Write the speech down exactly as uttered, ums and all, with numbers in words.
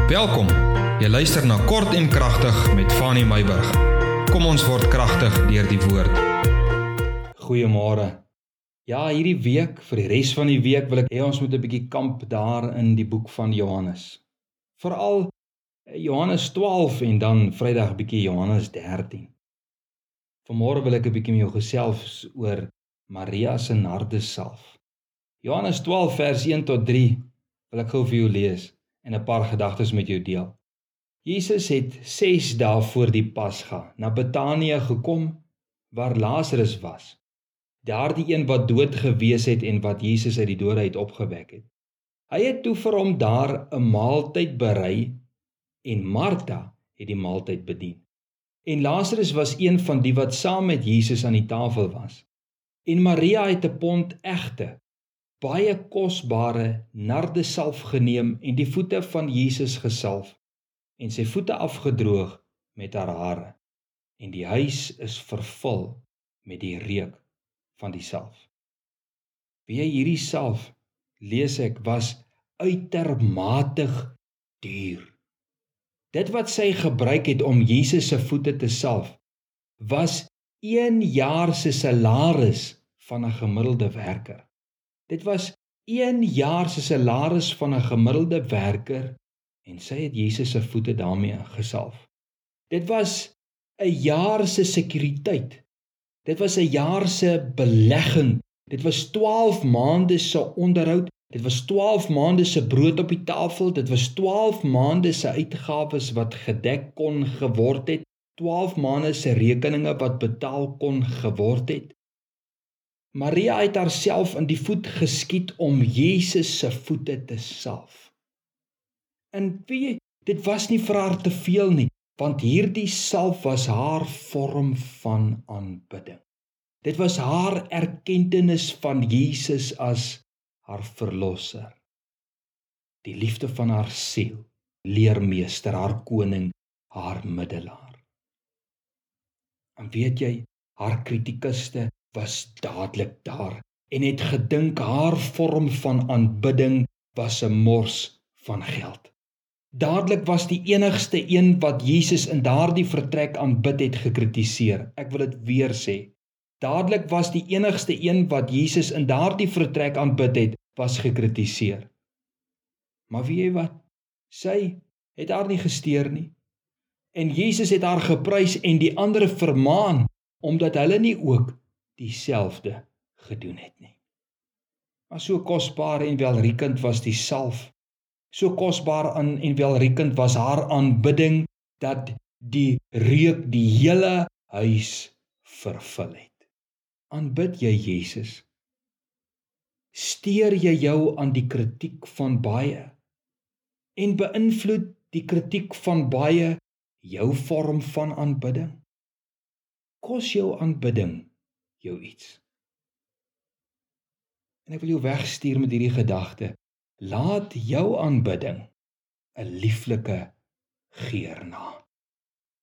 Welkom, jy luister na Kort en Kragtig met Fanny Meyburg. Kom ons word kragtig deur die woord. Goeiemôre. Ja, hierdie week, vir die res van die week wil ek hê ons moet 'n bietjie kamp daar in die boek van Johannes. Veral Johannes twaalf en dan Vrydag 'n bietjie Johannes dertien. Vanmôre wil ek 'n bietjie met jou gesels oor Maria se nardussalf. Johannes twaalf vers een tot drie wil ek gou vir jou lees en 'n paar gedagtes met jou deel. Jesus het ses dae voor die Pasga na Betanië gekom waar Lazarus was. Daardie een wat dood gewees het en wat Jesus uit die dode uit opgewek het. Hy het toe vir hom daar 'n maaltyd berei en Martha het die maaltyd bedien. En Lazarus was een van die wat saam met Jesus aan die tafel was. En Maria het 'n pond egte, baie kosbare nardussalf geneem en die voete van Jesus gesalf en sy voete afgedroog met haar hare. En die huis is vervul met die reuk van die salf. Wie hierdie salf, lees ek, was uitermatig duur. Dit wat sy gebruik het om Jesus se voete te salf, was een jaar se salaris van 'n gemiddelde werker. Dit was een jaar se salaris van 'n gemiddelde werker en sy het Jesus se voete daarmee gesalf. Dit was 'n jaar se sekuriteit. Dit was 'n jaar se belegging. Dit was twaalf maande se onderhoud. Dit was twaalf maande se brood op die tafel. Dit was twaalf maande se uitgawes wat gedek kon geword het. twaalf maande se rekeninge wat betaal kon geword het. Maria het haarself in die voet geskiet om Jesus se voete te salf. En weet, dit was nie vir haar te veel nie, want hierdie salf was haar vorm van aanbidding. Dit was haar erkentenis van Jesus as haar verlosser. Die liefde van haar siel, leermeester, haar koning, haar middelaar. En weet jy, haar kritikuste was dadelik daar en het gedink haar vorm van aanbidding was 'n mors van geld. Dadelik was die enigste een wat Jesus in daardie vertrek aanbid het gekritiseer. Ek wil dit weer sê. Dadelik was die enigste een wat Jesus in daardie vertrek aanbid het, was gekritiseer. Maar weet jy wat? Sy het haar nie gesteer nie. En Jesus het haar geprys en die ander vermaan, omdat hulle nie ook dieselfde gedoen het nie. Maar so kosbaar en welriekend was die salf, so kosbaar en welriekend was haar aanbidding, dat die reuk die hele huis vervul het. Aanbid jy Jesus? Steur jy jou aan die kritiek van baie? En beïnvloed die kritiek van baie jou vorm van aanbidding? Kos jou aanbidding jou iets? En ek wil jou wegstuur met hierdie gedagte. Laat jou aanbidding 'n lieflike geur na.